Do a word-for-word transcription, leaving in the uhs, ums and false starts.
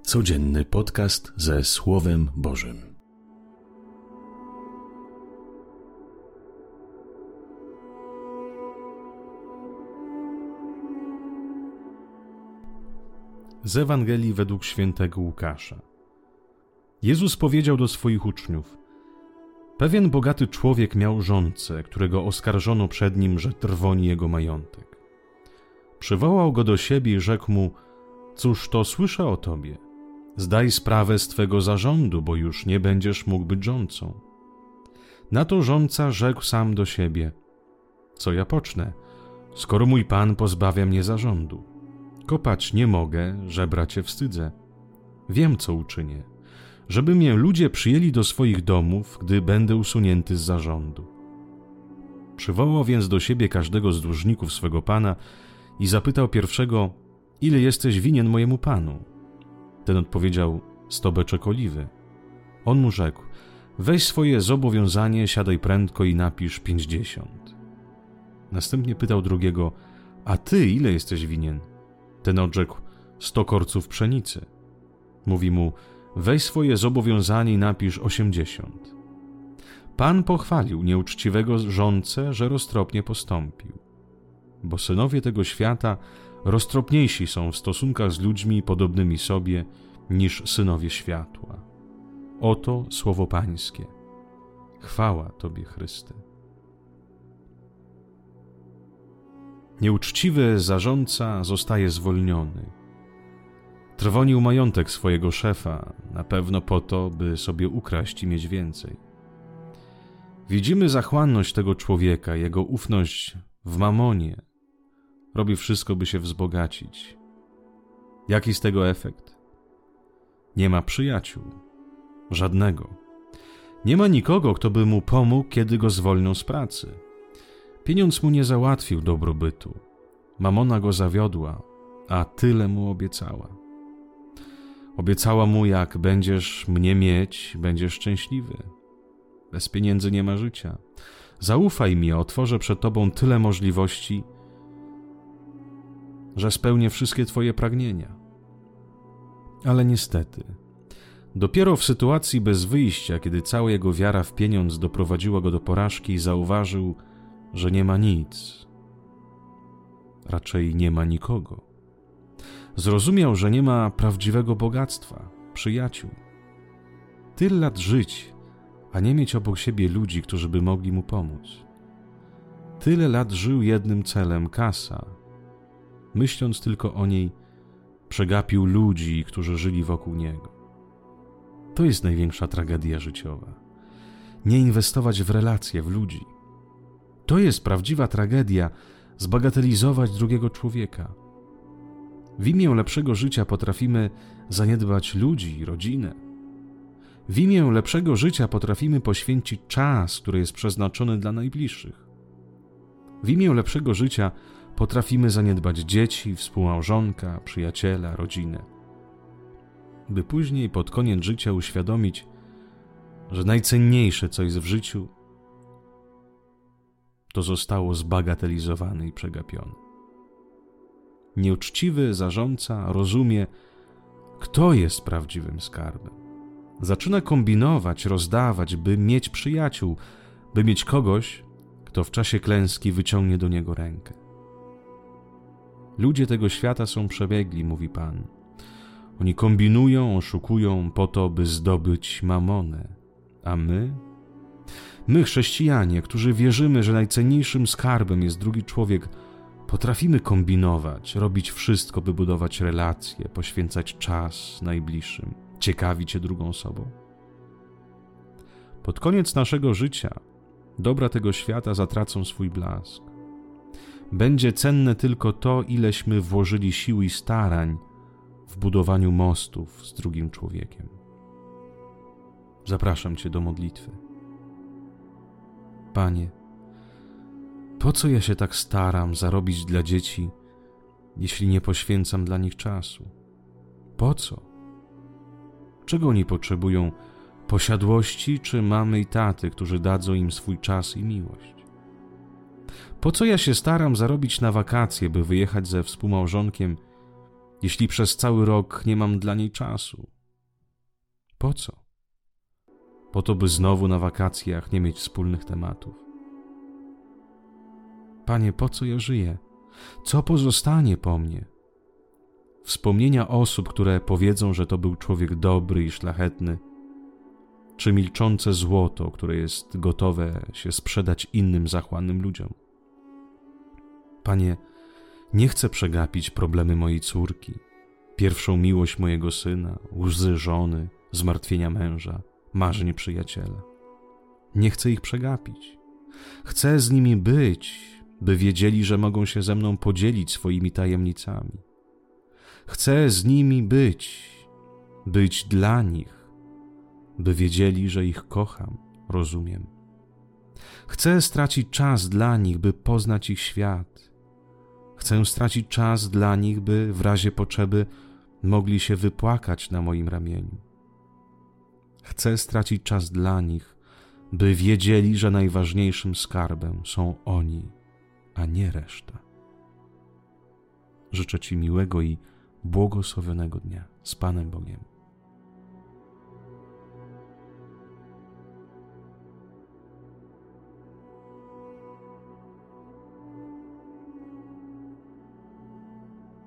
Codzienny podcast ze Słowem Bożym. Z Ewangelii według świętego Łukasza. Jezus powiedział do swoich uczniów: Pewien bogaty człowiek miał żonцę, którego oskarżono przed nim, że trwoni jego majątek. Przywołał go do siebie i rzekł mu: Cóż to słyszę o tobie? Zdaj sprawę z twego zarządu, bo już nie będziesz mógł być żońcą. Na to żonca rzekł sam do siebie: Co ja pocznę, skoro mój pan pozbawia mnie zarządu? Kopać nie mogę, żebrać się wstydzę. Wiem, co uczynię, żeby mnie ludzie przyjęli do swoich domów, gdy będę usunięty z zarządu. Przywołał więc do siebie każdego z dłużników swego pana i zapytał pierwszego: Ile jesteś winien mojemu panu? Ten odpowiedział: sto beczek oliwy. On mu rzekł: Weź swoje zobowiązanie, siadaj prędko i napisz pięćdziesiąt. Następnie pytał drugiego: A ty ile jesteś winien? Ten odrzekł: sto korców pszenicy. Mówi mu: Weź swoje zobowiązanie i napisz osiemdziesiąt. Pan pochwalił nieuczciwego żoncę, że roztropnie postąpił. Bo synowie tego świata roztropniejsi są w stosunkach z ludźmi podobnymi sobie niż synowie światła. Oto słowo Pańskie. Chwała Tobie, Chryste. Nieuczciwy zarządca zostaje zwolniony. Trwonił majątek swojego szefa, na pewno po to, by sobie ukraść i mieć więcej. Widzimy zachłanność tego człowieka, jego ufność w mamonie. Robi wszystko, by się wzbogacić. Jaki z tego efekt? Nie ma przyjaciół. Żadnego. Nie ma nikogo, kto by mu pomógł, kiedy go zwolnią z pracy. Pieniądz mu nie załatwił dobrobytu. Mamona go zawiodła, a tyle mu obiecała. Obiecała mu: jak będziesz mnie mieć, będziesz szczęśliwy. Bez pieniędzy nie ma życia. Zaufaj mi, otworzę przed tobą tyle możliwości, że spełnię wszystkie twoje pragnienia. Ale niestety, dopiero w sytuacji bez wyjścia, kiedy cała jego wiara w pieniądz doprowadziła go do porażki, zauważył, że nie ma nic. Raczej nie ma nikogo. Zrozumiał, że nie ma prawdziwego bogactwa, przyjaciół. Tyle lat żyć, a nie mieć obok siebie ludzi, którzy by mogli mu pomóc. Tyle lat żył jednym celem: kasa. Myśląc tylko o niej, przegapił ludzi, którzy żyli wokół niego. To jest największa tragedia życiowa. Nie inwestować w relacje, w ludzi. To jest prawdziwa tragedia, zbagatelizować drugiego człowieka. W imię lepszego życia potrafimy zaniedbać ludzi, rodzinę. W imię lepszego życia potrafimy poświęcić czas, który jest przeznaczony dla najbliższych. W imię lepszego życia potrafimy zaniedbać dzieci, współmałżonka, przyjaciela, rodzinę. By później pod koniec życia uświadomić, że najcenniejsze, co jest w życiu, to zostało zbagatelizowane i przegapione. Nieuczciwy zarządca rozumie, kto jest prawdziwym skarbem. Zaczyna kombinować, rozdawać, by mieć przyjaciół, by mieć kogoś, kto w czasie klęski wyciągnie do niego rękę. Ludzie tego świata są przebiegli, mówi Pan. Oni kombinują, oszukują po to, by zdobyć mamonę. A my? My, chrześcijanie, którzy wierzymy, że najcenniejszym skarbem jest drugi człowiek, potrafimy kombinować, robić wszystko, by budować relacje, poświęcać czas najbliższym, ciekawić się drugą osobą. Pod koniec naszego życia dobra tego świata zatracą swój blask. Będzie cenne tylko to, ileśmy włożyli sił i starań w budowaniu mostów z drugim człowiekiem. Zapraszam Cię do modlitwy. Panie, po co ja się tak staram zarobić dla dzieci, jeśli nie poświęcam dla nich czasu? Po co? Czego oni potrzebują? Posiadłości czy mamy i taty, którzy dadzą im swój czas i miłość? Po co ja się staram zarobić na wakacje, by wyjechać ze współmałżonkiem jeśli przez cały rok nie mam dla niej czasu? Po co? Po to, by znowu na wakacjach nie mieć wspólnych tematów. Panie, po co ja żyję? Co pozostanie po mnie? Wspomnienia osób, które powiedzą, że to był człowiek dobry i szlachetny, czy milczące złoto, które jest gotowe się sprzedać innym zachłannym ludziom? Panie, nie chcę przegapić problemy mojej córki, pierwszą miłość mojego syna, łzy żony, zmartwienia męża, marzeń przyjaciela. Nie chcę ich przegapić. Chcę z nimi być, by wiedzieli, że mogą się ze mną podzielić swoimi tajemnicami. Chcę z nimi być, być dla nich, by wiedzieli, że ich kocham, rozumiem. Chcę stracić czas dla nich, by poznać ich świat. Chcę stracić czas dla nich, by w razie potrzeby mogli się wypłakać na moim ramieniu. Chcę stracić czas dla nich, by wiedzieli, że najważniejszym skarbem są oni, a nie reszta. Życzę Ci miłego i błogosławionego dnia z Panem Bogiem.